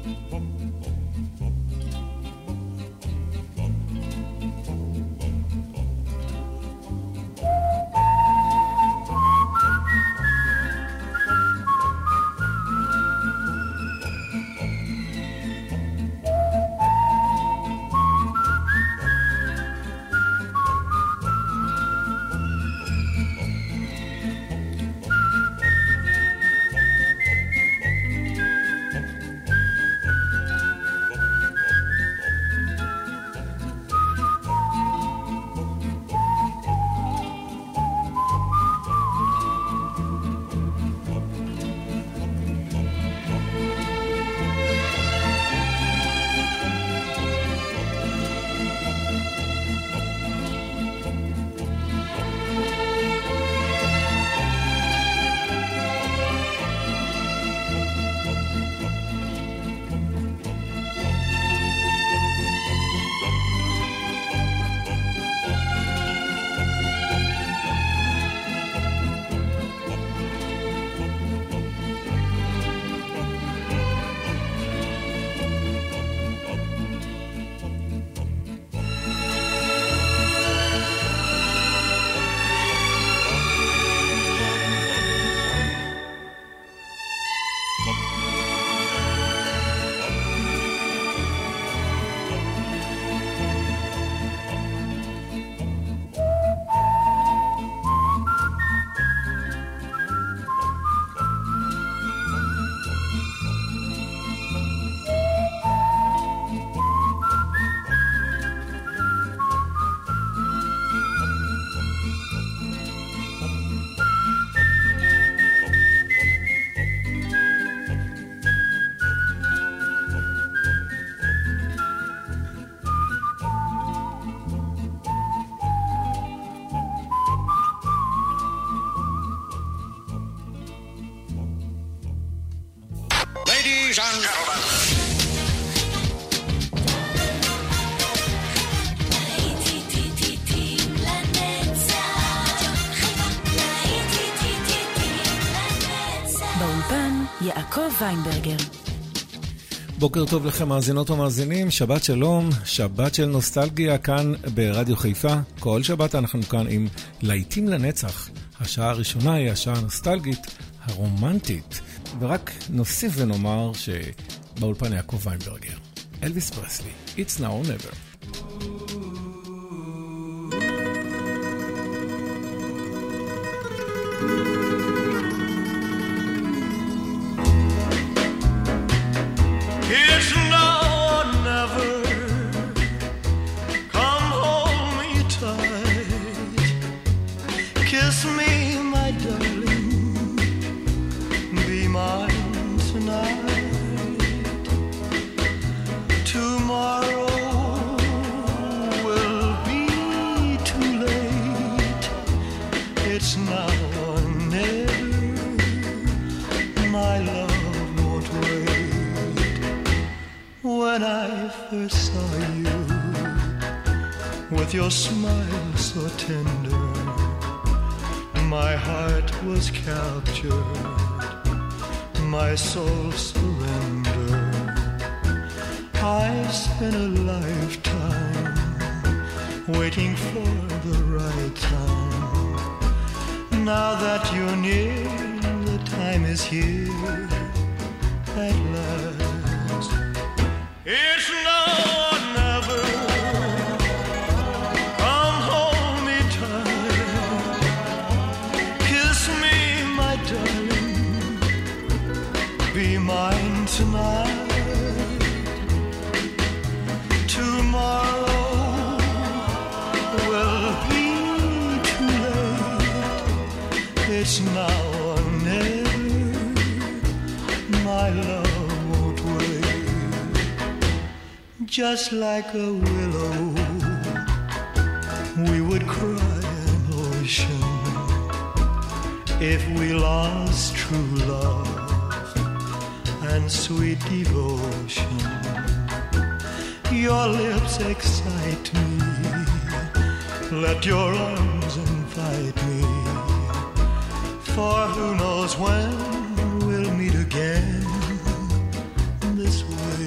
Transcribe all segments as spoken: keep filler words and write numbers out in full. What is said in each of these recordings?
Ladies and gentlemen. באולפן יעקב ויינברגר. בוקר טוב לכם מאזינות ומאזינים, שבת שלום, שבת של נוסטלגיה כאן ברדיו חיפה. כל שבת אנחנו כאן עם להיטים לנצח. השעה הראשונה היא השעה הנוסטלגית, הרומנטית. ורק נוסיף ונאמר שבאולפן יעקב ויינברגר, אלוויס פרסלי, It's Now or Never. It's now or never. Come hold me tight. Kiss me, my darling. Be mine tonight. Tomorrow will be too late. It's now or never. My love won't wait. When I first saw you, with your smile so tender, my heart was captured, my soul surrendered. I spent a lifetime waiting for the right time. Now that you're near, the time is here at last. It's now or never. Come hold me tight. Kiss me, my darling. Be mine tonight. Tomorrow will be too late. It's now or never. My love won't wait. Just like a willow, we would cry an ocean if we lost true love and sweet devotion. Your lips excite me. Let your arms invite me. For who knows when we'll meet again this way.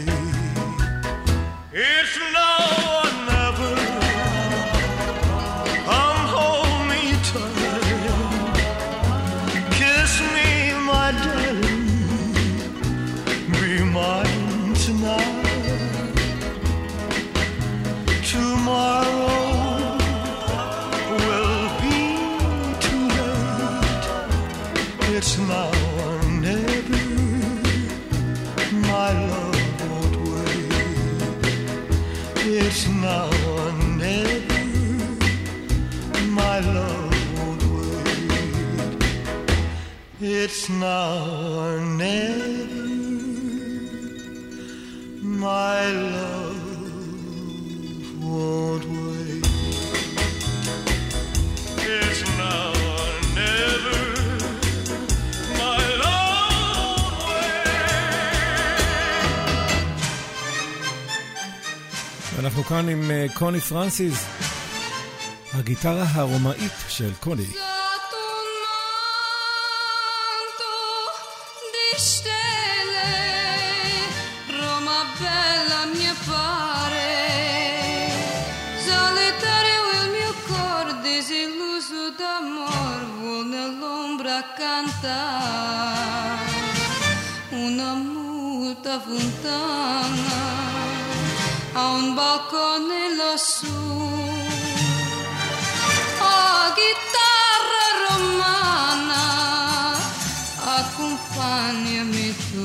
now or never, my love won't wait. It's now or never, my love won't wait. אנחנו כאן עם קוני פרנסיס, הגיטרה הרומאית של קוני. Una multa fontana a un balcone lassù. Oh, chitarra romana, accompagnami tu.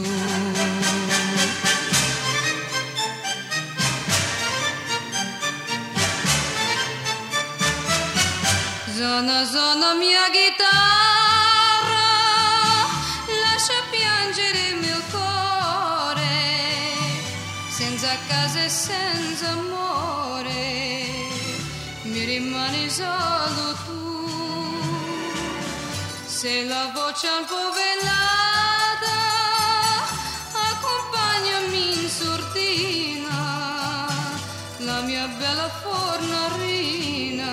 Zona, zona mia chitarra, lascia piangere il mio cuore, senza casa e senza amore, mi rimani solo tu. Se la voce un po' velata, accompagnami in sordina, la mia bella fornarina.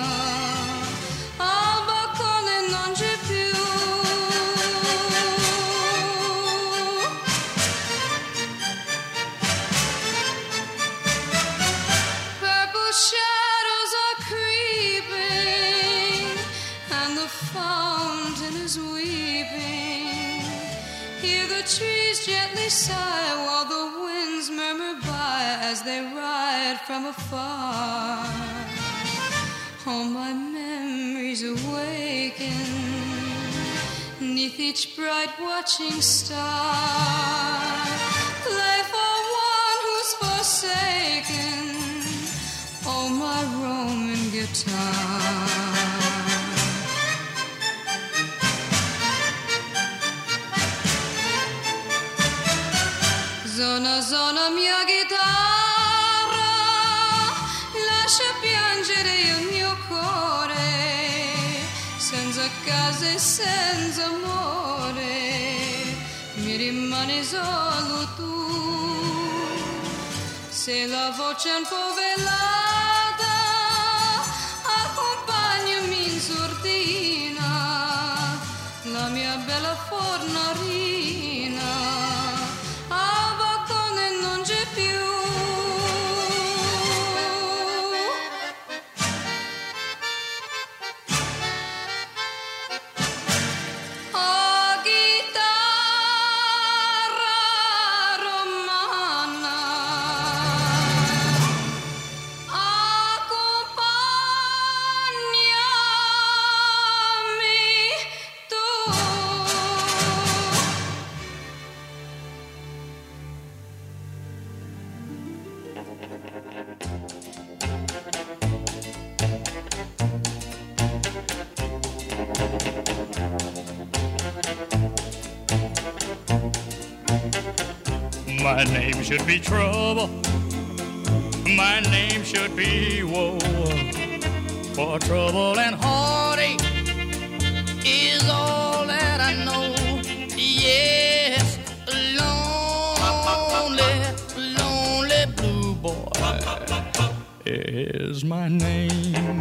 Trees gently sigh while the winds murmur by as they ride from afar. All my memories awaken 'neath each bright watching star. Play for one who's forsaken, oh my Roman guitar. Zona, zona mia chitarra, lascia piangere il mio cuore, senza casa e senza amore, mi rimani solo tu. Se la voce è un po' velata, accompagnami in sordina, la mia bella fornarina. My name should be trouble, my name should be woe, for trouble and heartache is all that I know. Yes, lonely, lonely blue boy is my name.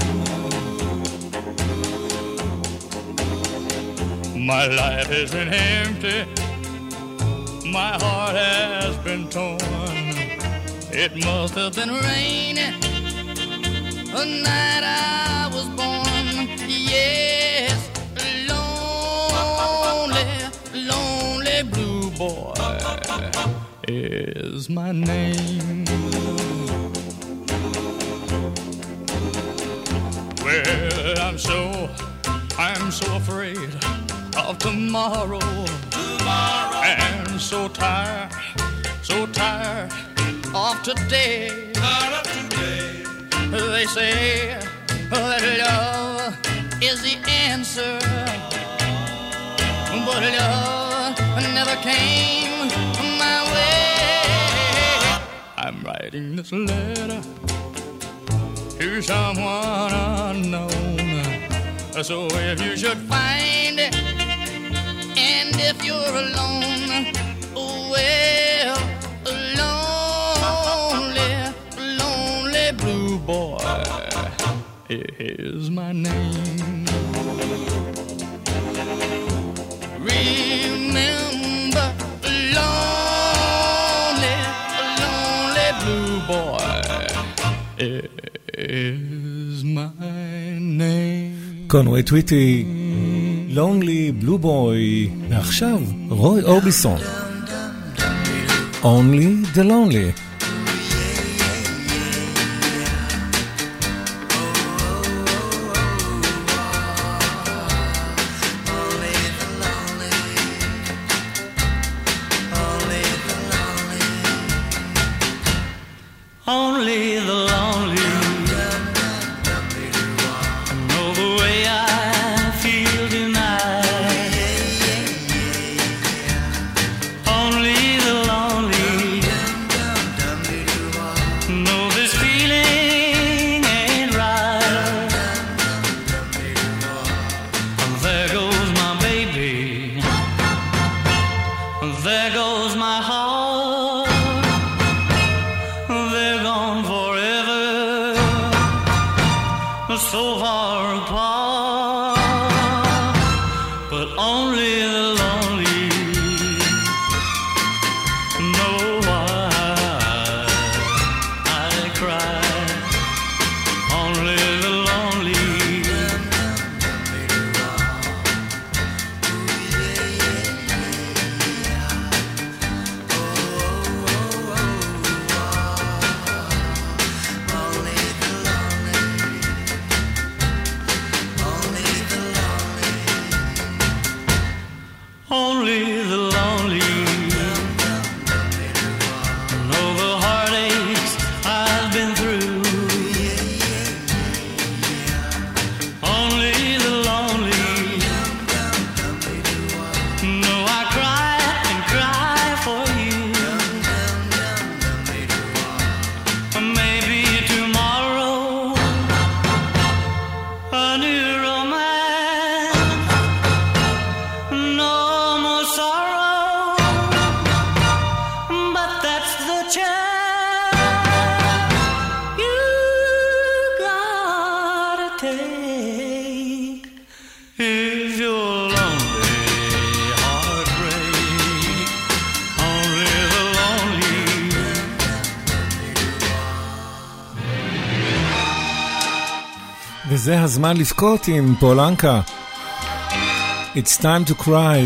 My life has been empty, my heart has been torn. It must have been raining the night I was born. Yes, lonely, lonely blue boy is my name. Well, I'm so, I'm so afraid of tomorrow. Tomorrow. And so tired, so tired of today. Tired of today. They say that love is the answer, but love never came my way. I'm writing this letter to someone unknown. So if you should find it, and if you're alone, well, lonely, lonely blue boy is my name. Remember, lonely, lonely blue boy is my name. קונווי טוויטי, Lonely Blue Boy, ועכשיו רוי אורביסון, Only the Lonely. Only the lonely know the way I feel tonight. Only the lonely know this feeling ain't right. There goes my baby, there goes my heart. They're gone forever, so far apart. But only the lonely know why I cry. Only the lonely. Only the lonely know the heartaches I've been through. Only the lonely know I cry and cry for you. Maybe tomorrow a new romance. No more sorrow, but that's the chance you gotta take if you're lonely, heartbreak. Only the lonely. וזה הזמן לבכות עם פולנקה. It's time to cry.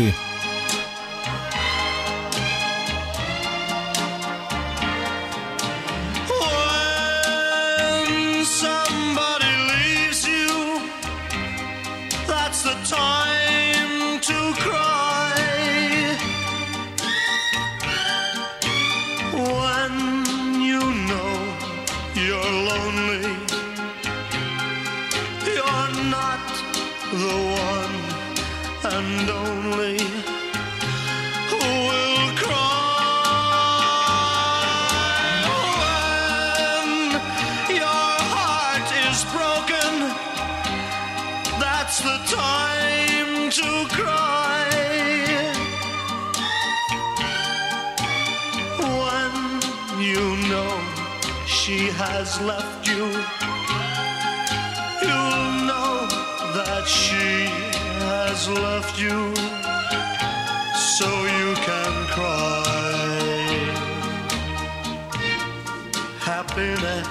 When somebody leaves you, that's the time to cry. When you know you're lonely, you're not the one and only who will cry. When your heart is broken, that's the time to cry. When you know she has left you, you'll know that she has left you, so you can cry. Happiness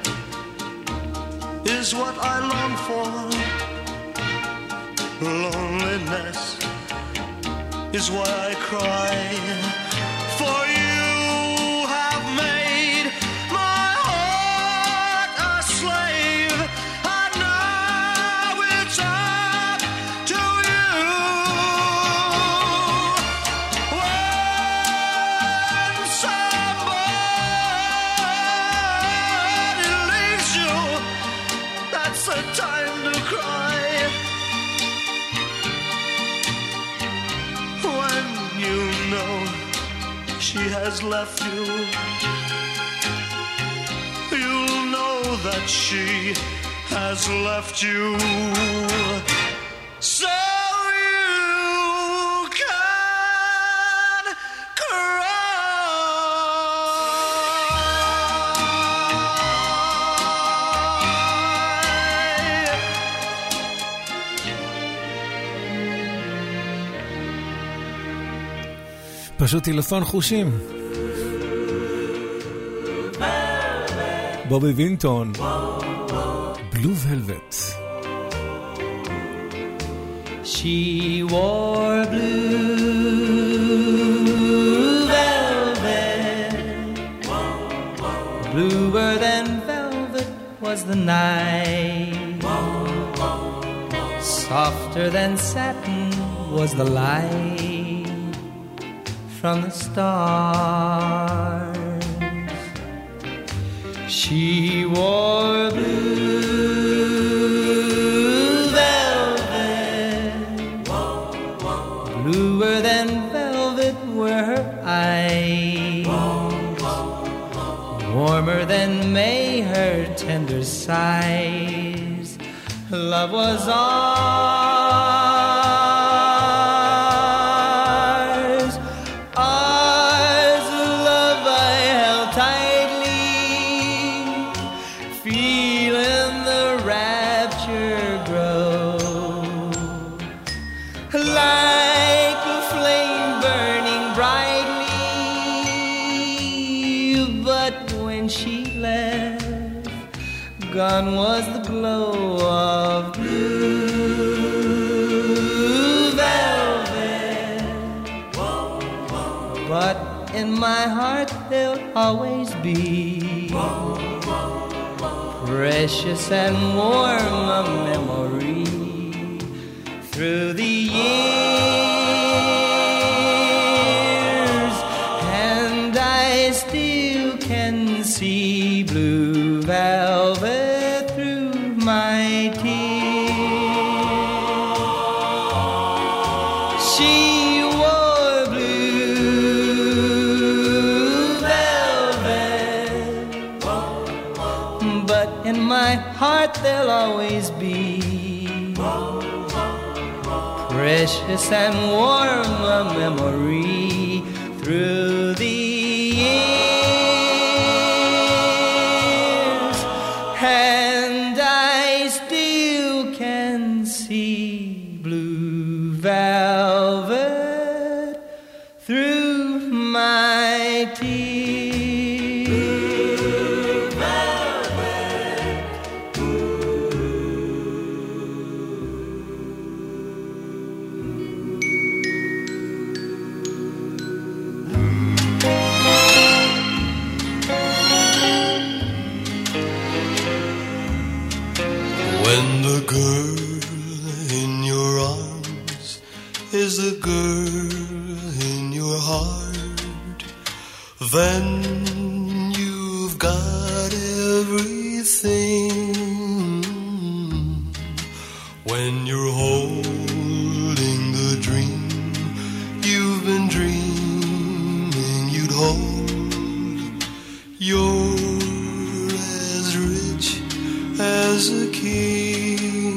is what I long for. Loneliness is why I cry. For you have made my heart a slave, and now it's up to you. When somebody leaves you, that's the time to cry. When you she has left you, you'll know that she has left you. So you can cry. פשוט טלפון חושים. בובי וינטון, בלו ולווט. She wore blue velvet, bluer than velvet was the night, softer than satin was the light from the stars. She wore blue velvet, bluer than velvet were her eyes, warmer than May her tender sighs. Love was ours, ours, love I held tightly, feeling the rapture grow, like a flame burning brightly. But when she left, gone was the glow of blue velvet. But in my heart there'll always be precious and warm a memory through the years, and I still can see blue velvet through my tears. She wore blue velvet, but in my heart there'll always be precious and warm a memory through the years, and I still can see blue velvet through my tears. Blue velvet. When the girl in your arms is the girl in your heart, then you've got everything. When you're holding the dream you've been dreaming you'd hold, you're as rich as a king.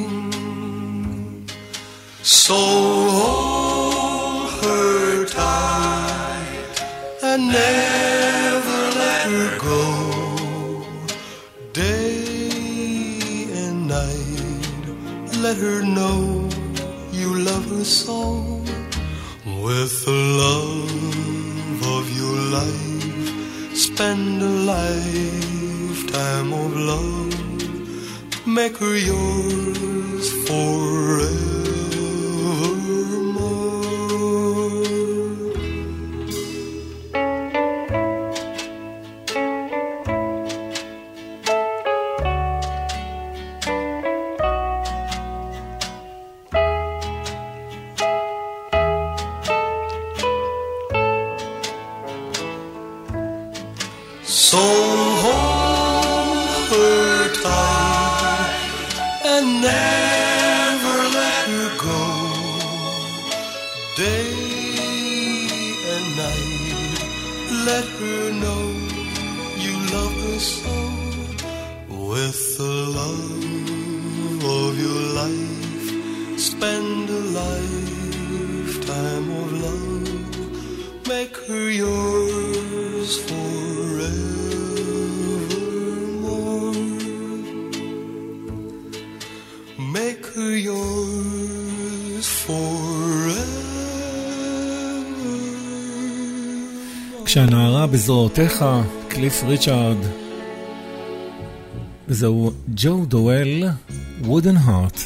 So hold her tight and never let her go. Day and night, let her know you love her so. With the love of your life, spend a lifetime of love. Make her yours forevermore. So hold her tight and never let her go. Day and night, Let her know you love her so. With the love of your life, spend a lifetime of love. Make her yours forevermore. Make her yours forever. כשהנערה בזרועותיך, קליף ריצ'ארד. וזהו ג'ו דואל, Wooden Heart.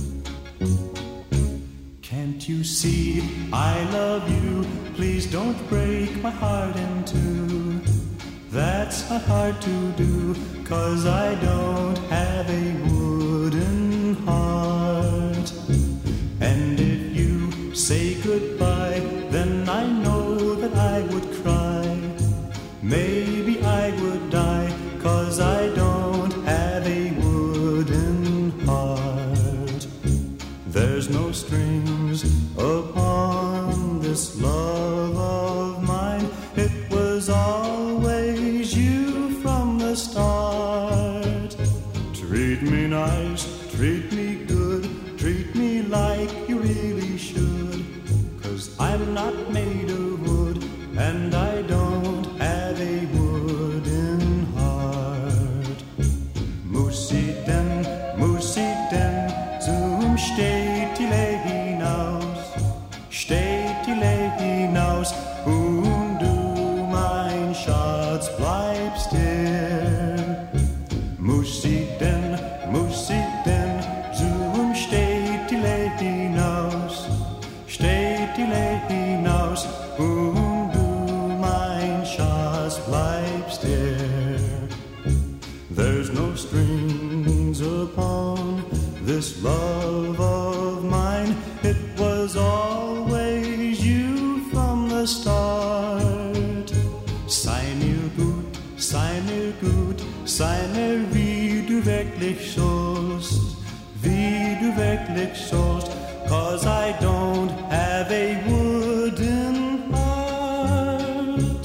Can't you see I love you? Please don't break my heart in two. That's not hard to do, 'cause I don't have a wooden heart. And if you say goodbye, then I know that I would cry. Maybe I would die, 'cause I don't have a wooden heart. There's no strings upon this love of mine. It was always you from the start. Treat me nice, treat me good, treat me like you really should. 'Cause I'm not made of wood, and I don't have a wooden heart. Musiten, musiten, zum steht die Lee hinaus, steht die Lee hinaus, und du, mein Schatz, bleibst hier. Musiten, musiten, zum steht die Lee hinaus, steht die Lee hinaus, und du, mein Schatz, bleibst hier. There's no strings upon this love of mine. It was always you from the start. Sei mir gut, sei mir gut, sei mir wie du wirklich sollst, wie du wirklich sollst, 'cause I don't have a wooden heart.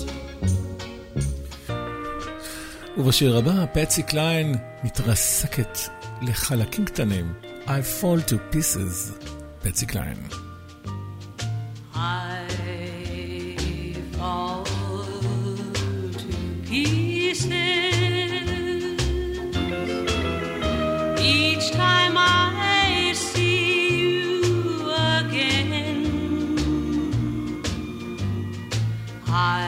ובשיר הבא, פטסי קליין מתרסקת לחלקים קטנים. I fall to pieces, פטסי קליין. I fall to pieces each time I see you again. I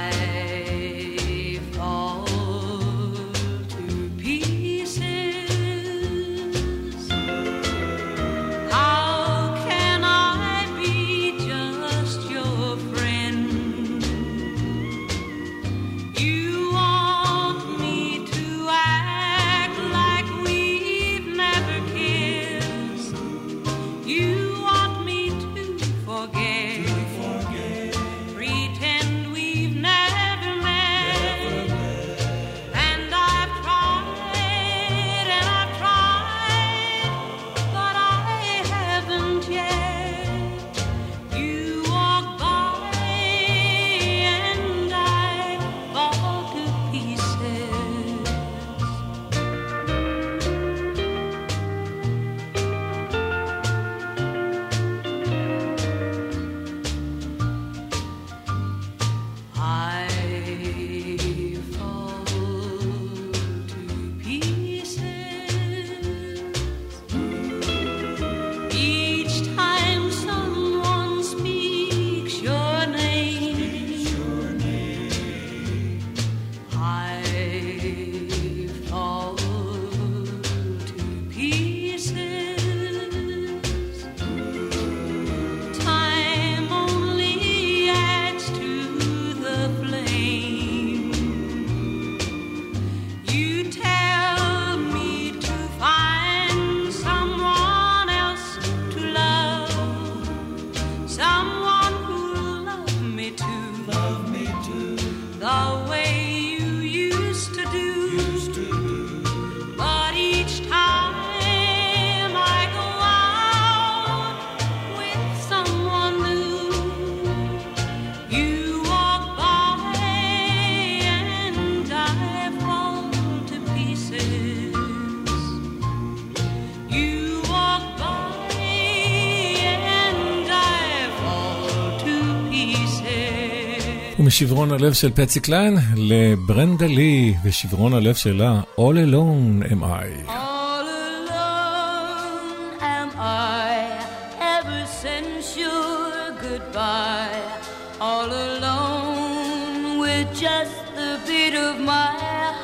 משברון הלב של פטסי קליין לברנדה לי ושברון הלב שלה All Alone Am I. All alone am I ever since your goodbye. All alone with just the beat of my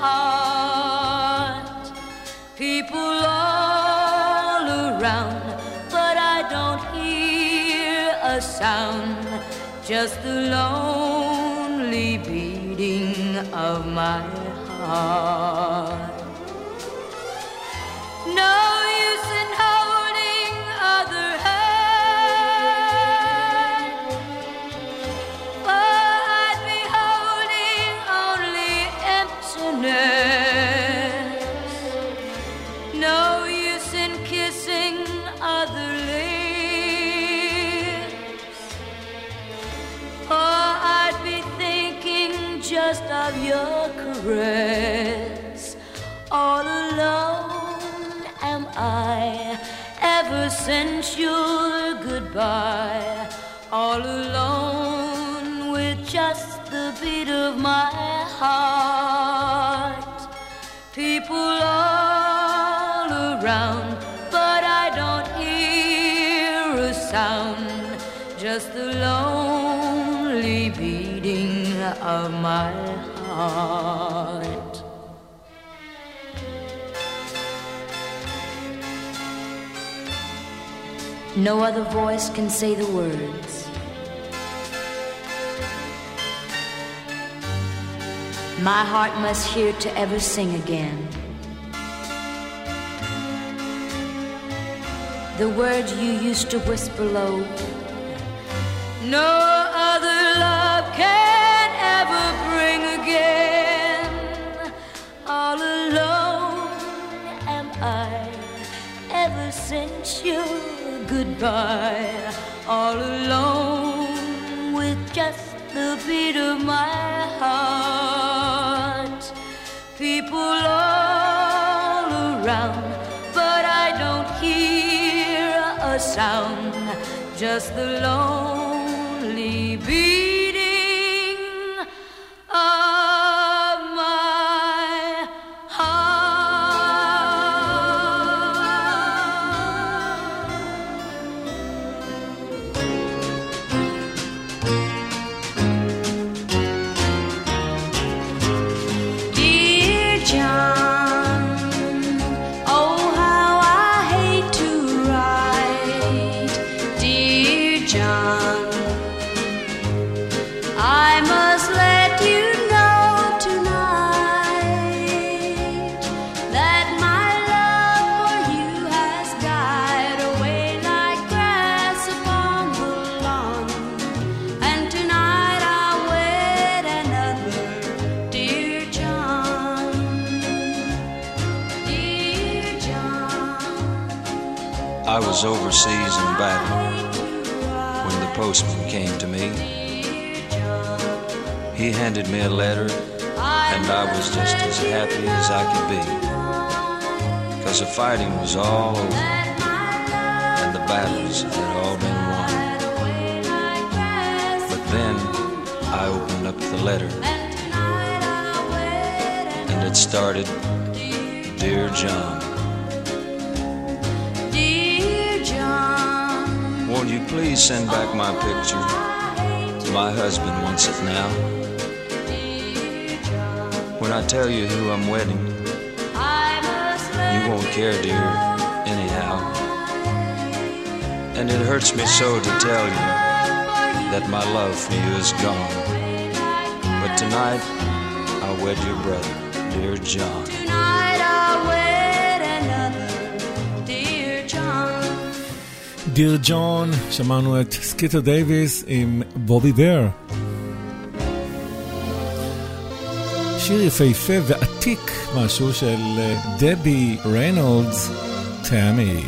heart. People all around, but I don't hear a sound. Just the lonely beating of my heart. No use in holding other hand, for I'd be holding only emptiness. No use in kissing other lips, for I'd be thinking just of your caress. All alone am I ever since your goodbye. All alone with just the beat of my heart. People all around, but I don't hear a sound. Just the lonely beating of my heart. No other voice can say the words. My heart must hear to ever sing again. The words you used to whisper low. No other love can ever bring again. All alone am I ever since your goodbye. All alone with just the beat of my heart. People all around, but I don't hear a sound. Just the lonely beating of my heart. Dear John, oh how I hate to write. Dear John, I must let you know tonight that my love for you has died away like grass upon the lawn. And tonight I'll wed another, dear John. Dear John, I was overseas in battle when the postman came to me. He handed me a letter, and I was just as happy as I could be, because the fighting was all over, and the battles had all been won. But then I opened up the letter, and it started, Dear John. dear John, Won't you please send back my picture? My husband wants it now. When I tell you who I'm wedding, you won't care, dear, anyhow. And it hurts me so to tell you that my love for you is gone. But tonight, I'll wed your brother, dear John. tonight I'll wed another, dear John. דיר ג'ון, שמענו את סקיטר דייביס עם בובי בר. שיר יפהפה ועתיק, משהו של דבי ריינולדס, תמי.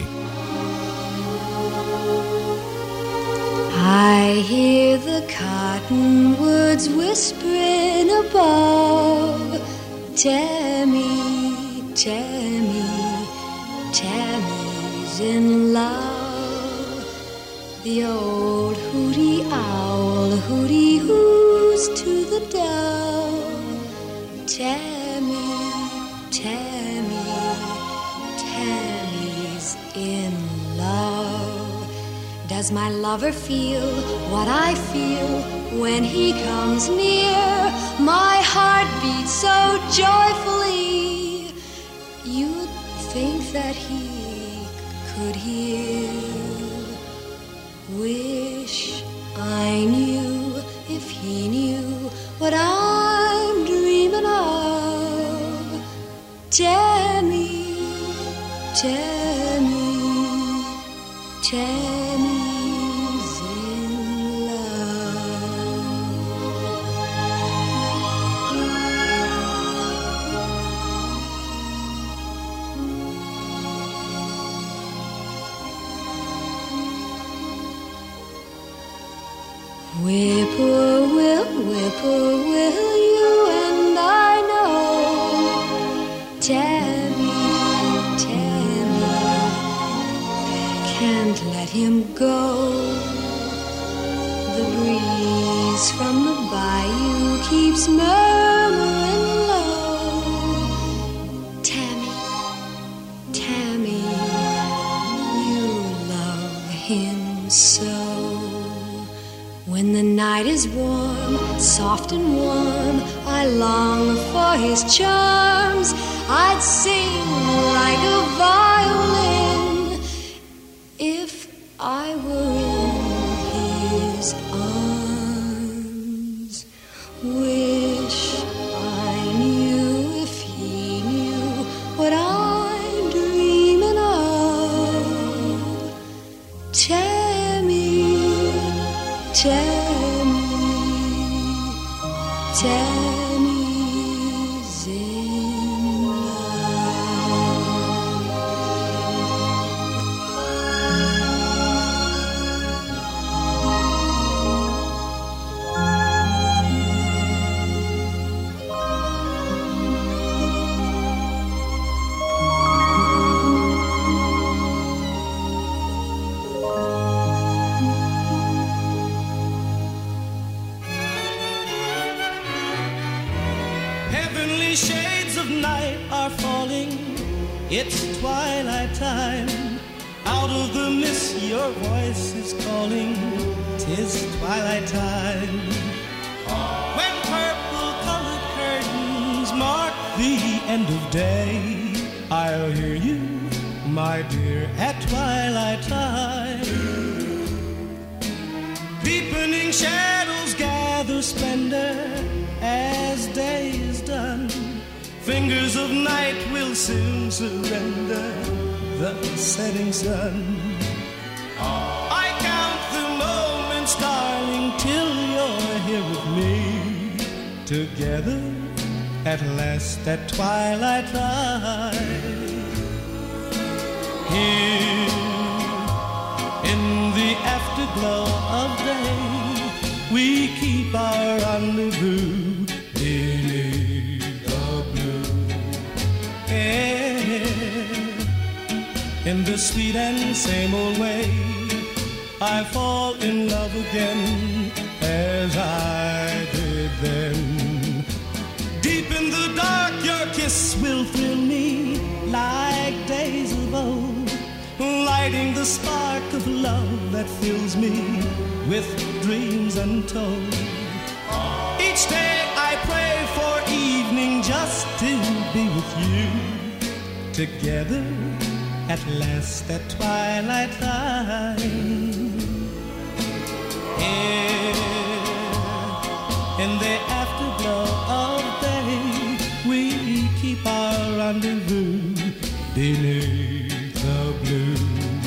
I hear the cottonwoods whispering above. Tammy, Tammy, Tammy's in love. The old hooty owl hooty hoos to the dove. Tammy, Tammy, Tammy's in love. Does my lover feel what I feel when he comes near? My heart beats so joyfully, you'd think that he could hear. Wish I knew if he knew what I'm dreaming of. Tammy, Tammy, Tammy's in love. Whippoorwill, whippoorwill, you and I know. Tammy, Tammy, can't let him go. The breeze from the bayou keeps murmuring low. Tammy, Tammy, you love him so. When the night is warm, soft and warm, I long for his charms. I'd sing like a violin if I were in his arms. Wish I knew if he knew what I'm dreaming of. Tammy, Tammy, Tammy's in love. Heavenly shades of night are falling. It's twilight time. Out of the mist your voice is calling. 'Tis twilight time. When purple colored curtains mark the end of day, I'll hear you, my dear, at twilight time. Deepening shadows gather splendor as day is done. Fingers of night will soon surrender the setting sun. I count the moments, darling, till you're here with me. Together at last at twilight time. Here in the afterglow of day, we keep our rendezvous beneath the blue air. In the sweet and same old way, I fall in love again as I did then. Deep in the dark, your kiss will thrill me like days of old, lighting the spark of love that fills me with dreams untold. Each day I pray for evening just to be with you. Together at last at twilight time. Here in the afterglow of day, we keep our rendezvous beneath the blue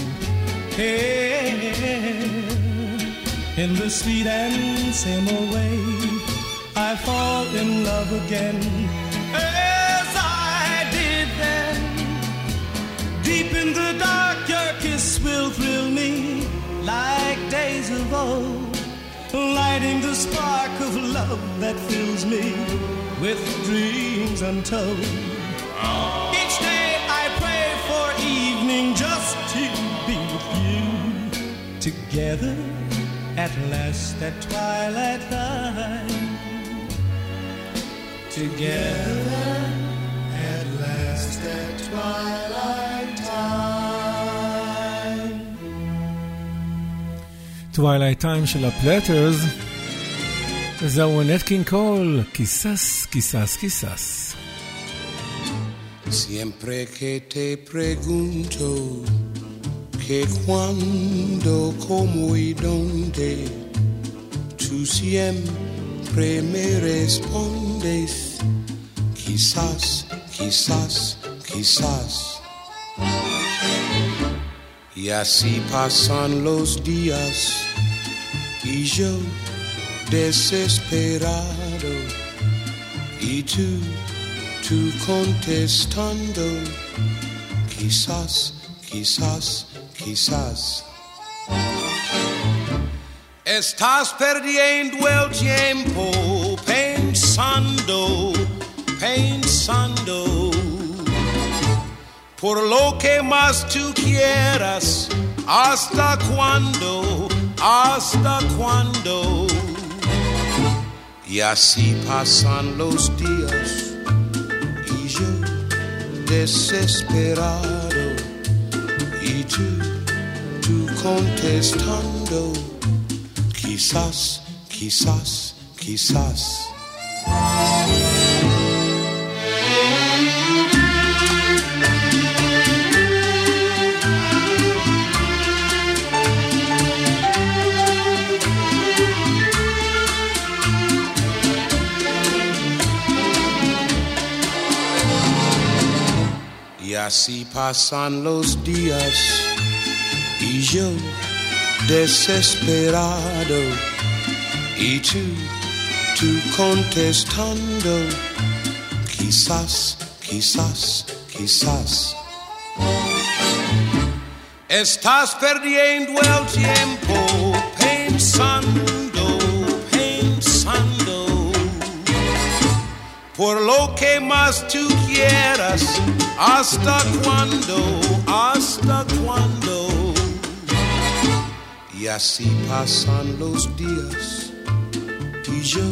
air. In the sweet and same old way, I fall in love again as I did then. Deep in the dark, your kiss will thrill me like days of old, lighting the spark of love that fills me with dreams untold. Each day I pray for evening just to be with you. Together at last at twilight time. together at last at twilight time. Twilight Time של הפלטרס, זהו נט קינג קול, קיסס, קיסס, קיסס. Siempre que te pregunto que cuando, cómo y dónde, tú siempre me respondes quizás, quizás, quizás. Y así pasan los días y yo desesperado y tú, tú contestando quizás, quizás, quizás. Estás perdiendo el tiempo pensando, pensando por lo que más tú quieras. ¿Hasta cuándo? ¿Hasta cuándo? Y así pasan los días y yo desesperado y tú, tú contestando quizás, quizás, quizás. Y así pasan los días y yo desesperado y tú, tú contestando quizás, quizás, quizás. Estás perdiendo el tiempo pensando, pensando por lo que más tú quieras. ¿Hasta cuándo? ¿Hasta cuándo? Y así pasan los días y yo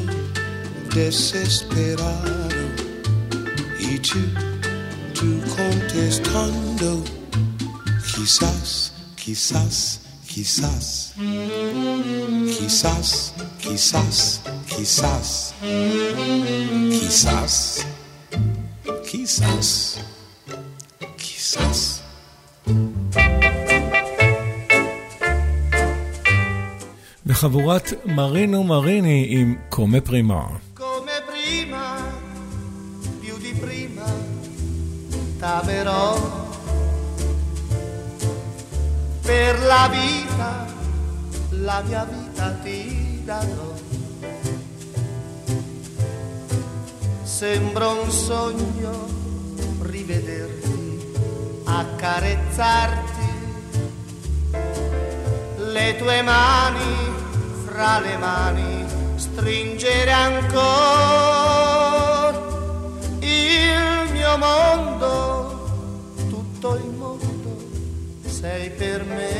desesperado y tú, tú contestando quizás, quizás, quizás, quizás, quizás, quizás, quizás, quizás, quizás. בחבורת מרינו מריני עם קומה פרימה. Come prima, più di prima, t'amerò per la vita, la mia vita ti darò. Sembra un sogno rivederti, accarezzarti, le tue mani fra le mani stringere ancora. Il mio mondo, tutto il mondo sei per me.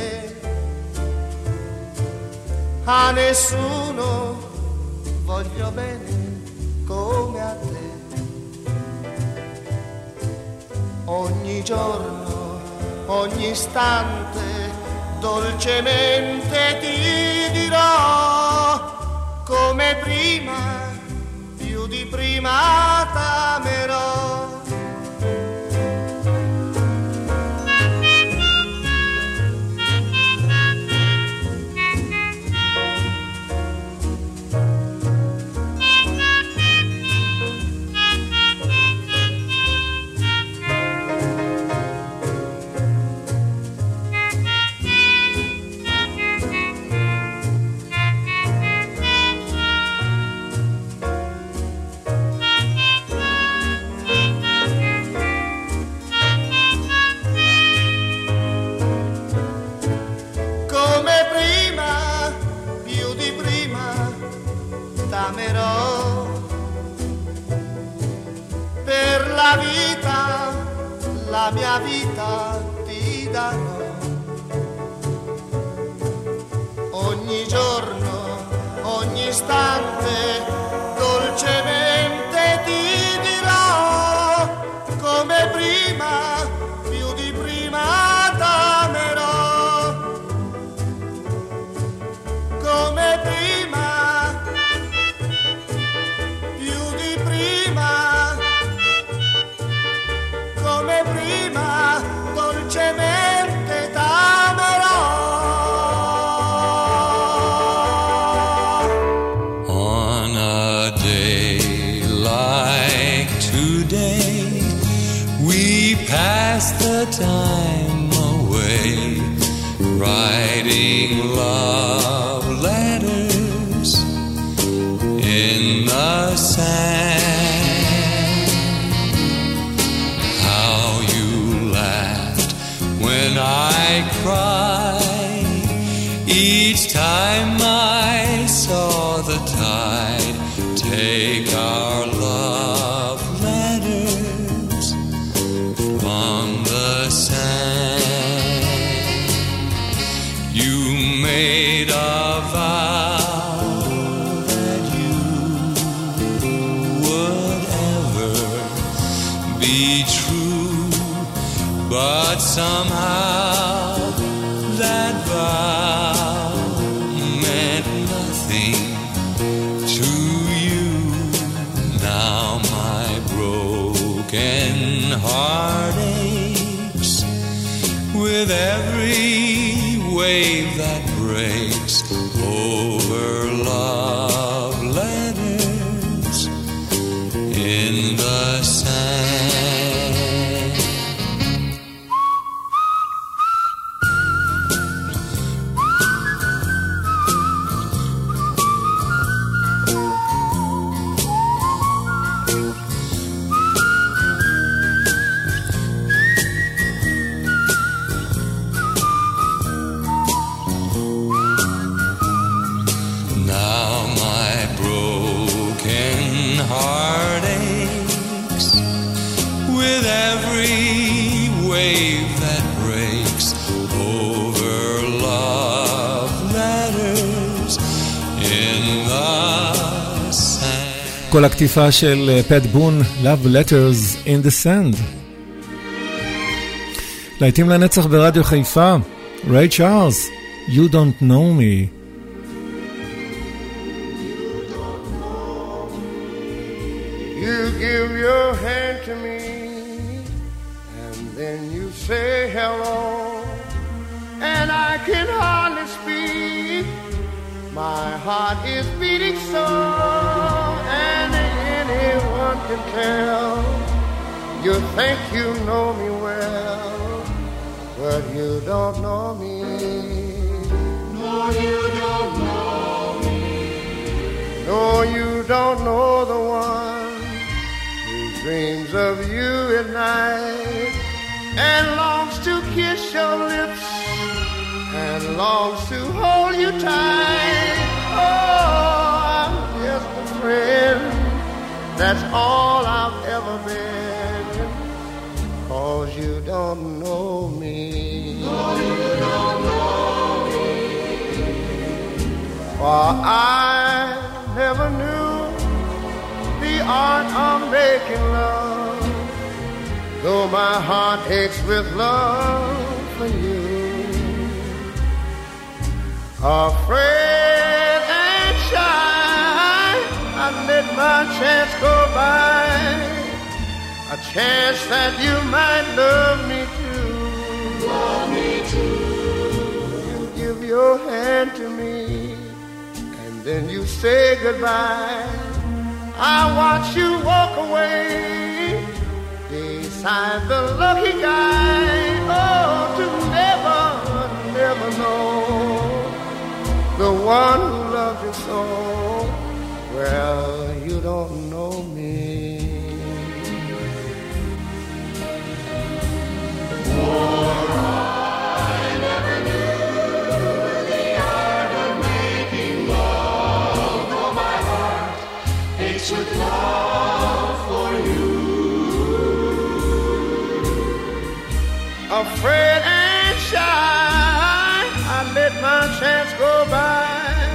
A nessuno voglio bene come a te. Ogni giorno, ogni istante dolcemente ti dirò come prima, più di prima t'amerò. La vita, la mia vita ti darò. Ogni giorno, ogni istante, dolcemente ti pass the time away, writing love letters in the sand. How you laughed when I cried each time I saw the tide take our love letters from the sand. You made a vow that you would ever be true, but somehow that vow meant nothing to you. Now my broken heart aches with every wave that breaks over love letters in the sand. Heart aches with every wave that breaks over love letters in the sand. כל הכתיבה של פט בון, Love Letters in the Sand. להיטים לנצח ברדיו חיפה, ריי צ'ארלס, You Don't Know Me. Give your hand to me and then you say hello, and I can hardly speak. My heart is beating so, and anyone can tell. You think you know me well, but you don't know me. No, you don't know me. No, you don't know the one dreams of you at night and longs to kiss your lips and longs to hold you tight. Oh, I'm just a friend, that's all I've ever been, 'cause you don't know me. No, you don't know me. For I never knew the art of making love, though my heart aches with love for you. Afraid and shy, I let my chance go by, a chance that you might love me too. Love me too. You give your hand to me, and then you say goodbye. I watch you walk away beside the lucky guy. Oh, to never, never know the one who loved you so. Well, you don't know me. For I never knew the art of making love. Oh, my heart aches with love for you. Afraid and shy, I let my chance go by,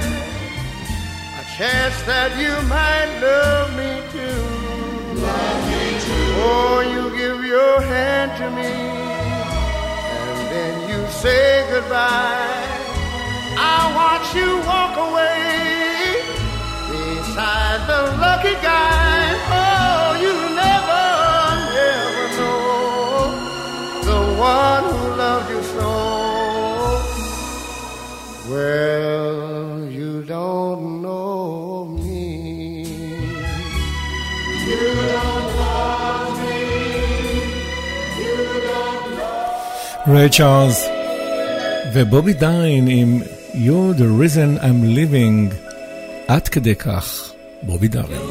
a chance that you might love me too. Love me too. Oh, you give your hand to me, and then you say goodbye. I watch you walk away beside the lucky guy. Oh, you never, never know the one who loved you so. Well, you don't know me. You don't love me. You don't ריי צ'ארלס ובובי דארין עם You're the reason I'm living. עד כדי כך בובי דארין.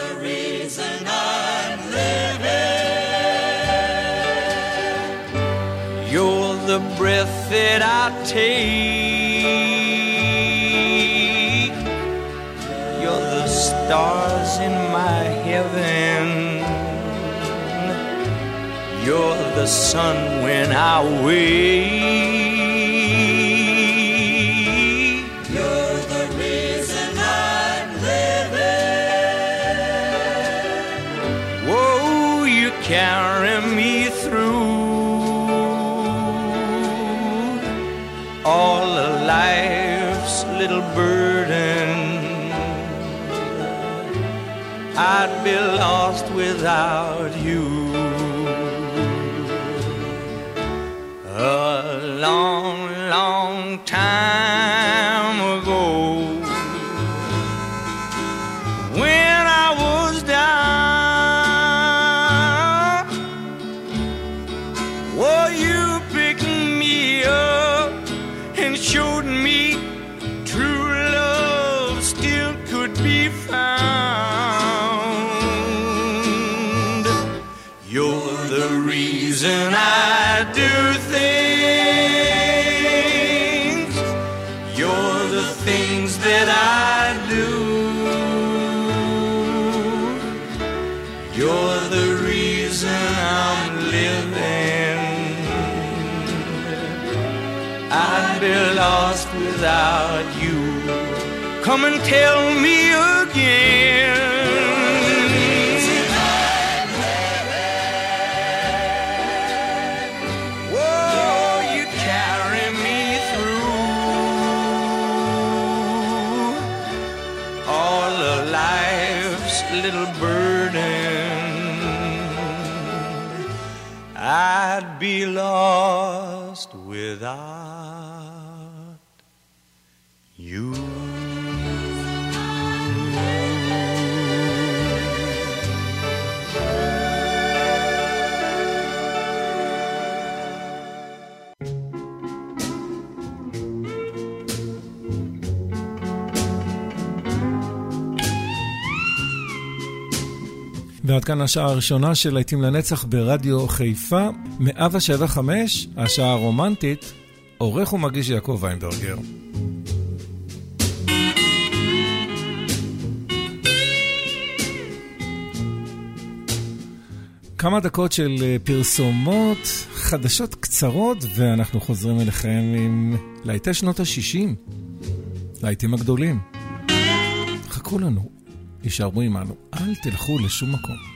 You're the breath that I take. You're the stars in my heaven. You're the sun when I wake. You're the reason I'm living. Whoa, you carry me through all of life's little burden. I'd be lost without you. A long, long time ago, when I was down, oh, you picked me up and showed me true love still could be found. You're the reason I do things. You're the things that I do. You're the reason I'm living. I'd be lost without you. Come and tell me again. Little burden, I'd be lost without you. ועד כאן השעה הראשונה של להיטים לנצח ברדיו חיפה, מאה שבע נקודה חמש, השעה הרומנטית, עורך ומגיש יעקב ויינברגר. כמה דקות של פרסומות, חדשות קצרות, ואנחנו חוזרים אליכם עם להיטי שנות ה-שישים, להיטים הגדולים. חכו לנו. יישארו עמנו, אל תלכו לשום מקום.